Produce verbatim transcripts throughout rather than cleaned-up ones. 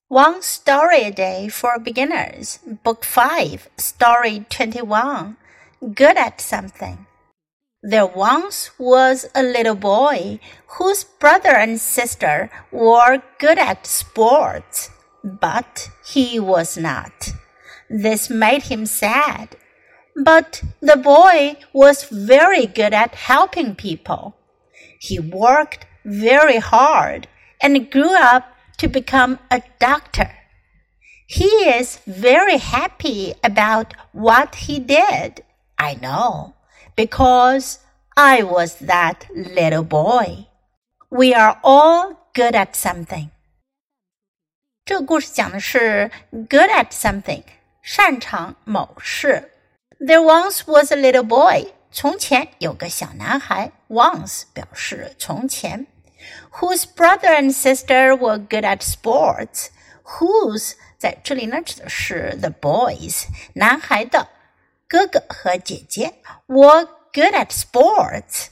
One Story a Day for Beginners, Book five, Story twenty-one, Good at Something. There once was a little boy whose brother and sister were good at sports, but he was not. This made him sad. But the boy was very good at helping people. He worked very hard and grew up to become a doctor. He is very happy about what he did. I know, because I was that little boy. We are all good at something. 这个故事讲的是 good at something, 擅长某事。There once was a little boy. 从前有个小男孩 once 表示从前Whose brother and sister were good at sports. Whose 在这里呢指的是 the boys, 男孩的哥哥和姐姐 were good at sports.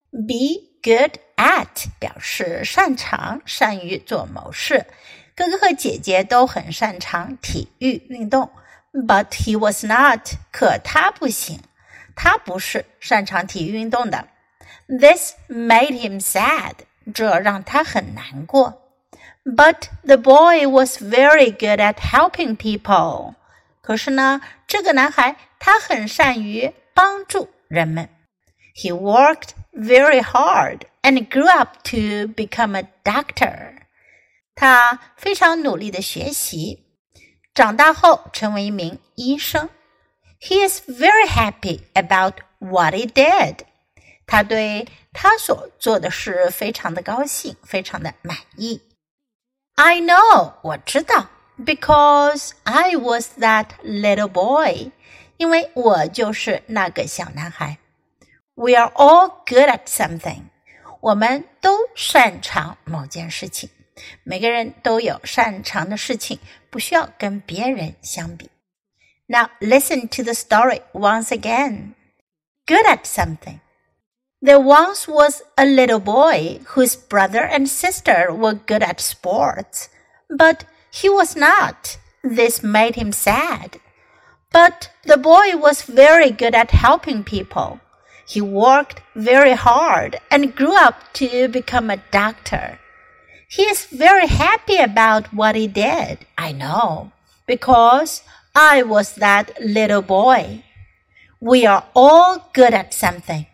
Be good at 表示擅长，善于做某事。哥哥和姐姐都很擅长体育运动 ，but he was not. 可他不行，他不是擅长体育运动的。This made him sad.这让他很难过。But the boy was very good at helping people. 可是呢，这个男孩他很善于帮助人们。He worked very hard and grew up to become a doctor. 他非常努力的学习，长大后成为一名医生。He is very happy about what he did.他对他所做的事非常的高兴，非常的满意。I know, 我知道 because I was that little boy, 因为我就是那个小男孩。We are all good at something. 我们都擅长某件事情。每个人都有擅长的事情，不需要跟别人相比。Now listen to the story once again. Good at something.There once was a little boy whose brother and sister were good at sports, but he was not. This made him sad. But the boy was very good at helping people. He worked very hard and grew up to become a doctor. He is very happy about what he did, I know, because I was that little boy. We are all good at something.